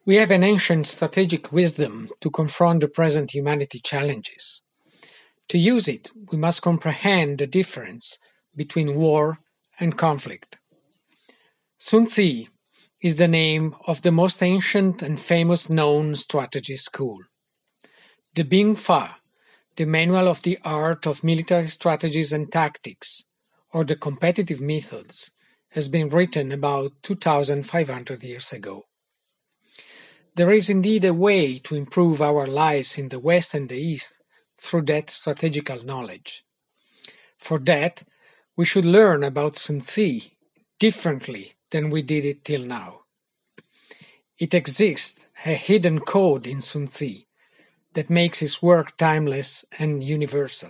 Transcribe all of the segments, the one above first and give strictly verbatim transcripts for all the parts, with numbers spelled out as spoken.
We have an ancient strategic wisdom to confront the present humanity challenges. To use it, we must comprehend the difference between war and conflict. Sun Tzu is the name of the most ancient and famous known strategy school. The Bing Fa, the Manual of the Art of Military Strategies and Tactics, or the Competitive Methods, has been written about two thousand five hundred years ago. There is indeed a way to improve our lives in the West and the East through that strategical knowledge. For that, we should learn about Sun Tzu differently than we did it till now. It exists a hidden code in Sun Tzu that makes his work timeless and universal.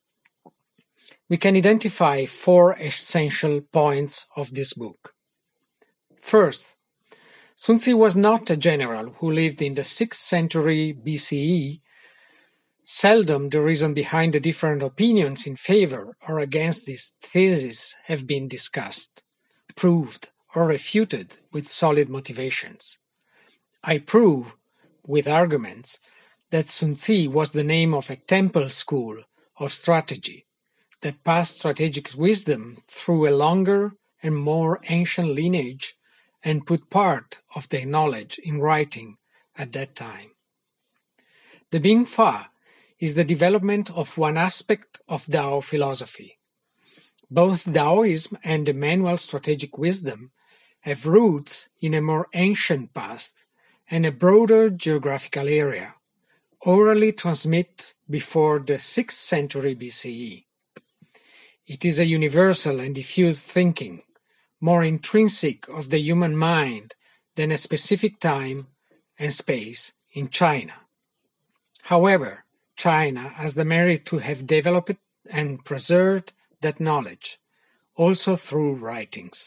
We can identify four essential points of this book. First, Sun Tzu was not a general who lived in the sixth century B C E. Seldom the reason behind the different opinions in favor or against this thesis have been discussed, proved, or refuted with solid motivations. I prove, with arguments, that Sun Tzu was the name of a temple school of strategy that passed strategic wisdom through a longer and more ancient lineage and put part of their knowledge in writing at that time. The Bing Fa is the development of one aspect of Tao philosophy. Both Taoism and the manual strategic wisdom have roots in a more ancient past and a broader geographical area, orally transmitted before the sixth century B C E. It is a universal and diffused thinking, more intrinsic of the human mind than a specific time and space in China. However, China has the merit to have developed and preserved that knowledge, also through writings.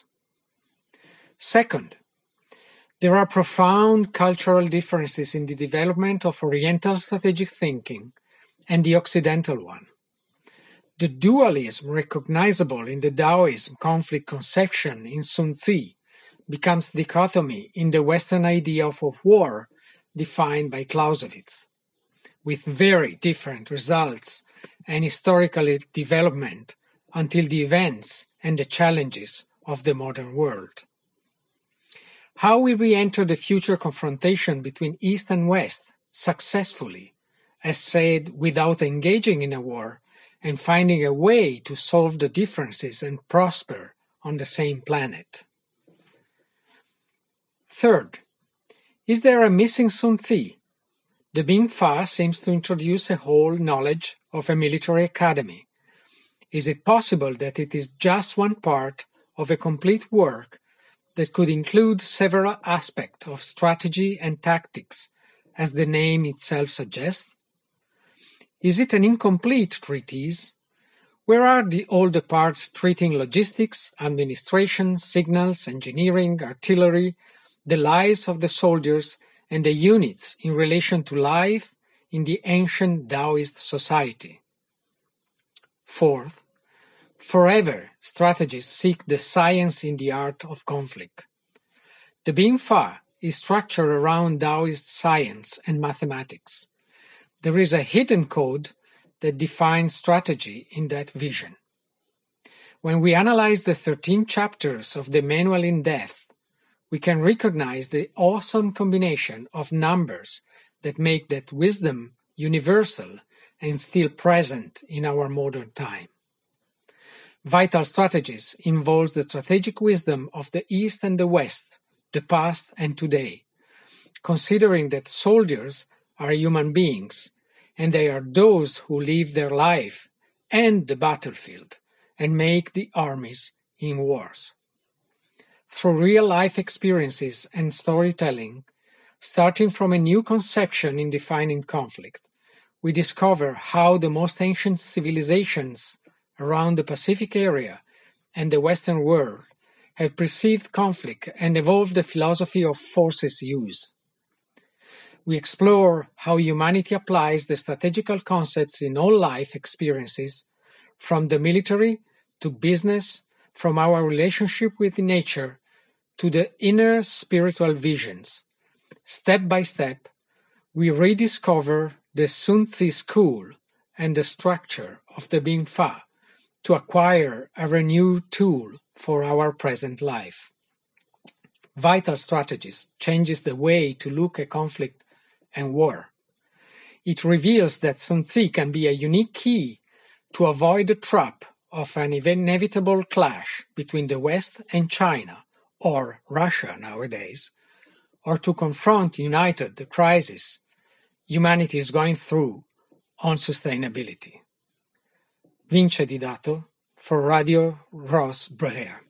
Second, there are profound cultural differences in the development of Oriental strategic thinking and the Occidental one. The dualism recognizable in the Taoism conflict conception in Sun Tzu becomes dichotomy in the Western idea of war defined by Clausewitz, with very different results and historical development until the events and the challenges of the modern world. How will we enter the future confrontation between East and West successfully, as said, without engaging in a war and finding a way to solve the differences and prosper on the same planet? Third, is there a missing Sun Tzu? The Bing Fa seems to introduce a whole knowledge of a military academy. Is it possible that it is just one part of a complete work that could include several aspects of strategy and tactics, as the name itself suggests? Is it an incomplete treatise? Where are the, all the parts treating logistics, administration, signals, engineering, artillery, the lives of the soldiers, and the units in relation to life in the ancient Taoist society? Fourth, forever strategists seek the science in the art of conflict. The Bing Fa is structured around Taoist science and mathematics. There is a hidden code that defines strategy in that vision. When we analyze the thirteen chapters of the manual in depth, we can recognize the awesome combination of numbers that make that wisdom universal and still present in our modern time. Vital Strategies involves the strategic wisdom of the East and the West, the past and today, considering that soldiers are human beings, and they are those who live their life and the battlefield and make the armies in wars. Through real-life experiences and storytelling, starting from a new conception in defining conflict, we discover how the most ancient civilizations around the Pacific area and the Western world have perceived conflict and evolved the philosophy of forces use. We explore how humanity applies the strategical concepts in all life experiences, from the military to business, from our relationship with nature to the inner spiritual visions, Step by step, we rediscover the Sun Tzu school and the structure of the Bing Fa to acquire a renewed tool for our present life. Vital Strategies changes the way to look at conflict and war. It reveals that Sun Tzu can be a unique key to avoid the trap of an inevitable clash between the West and China, or Russia nowadays, or to confront united the crisis humanity is going through on sustainability. Vince Di Dato for Radio Ros Brera.